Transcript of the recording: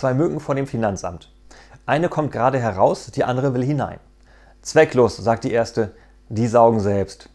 Zwei Mücken vor dem Finanzamt. Eine kommt gerade heraus, die andere will hinein. Zwecklos, sagt die erste, die saugen selbst.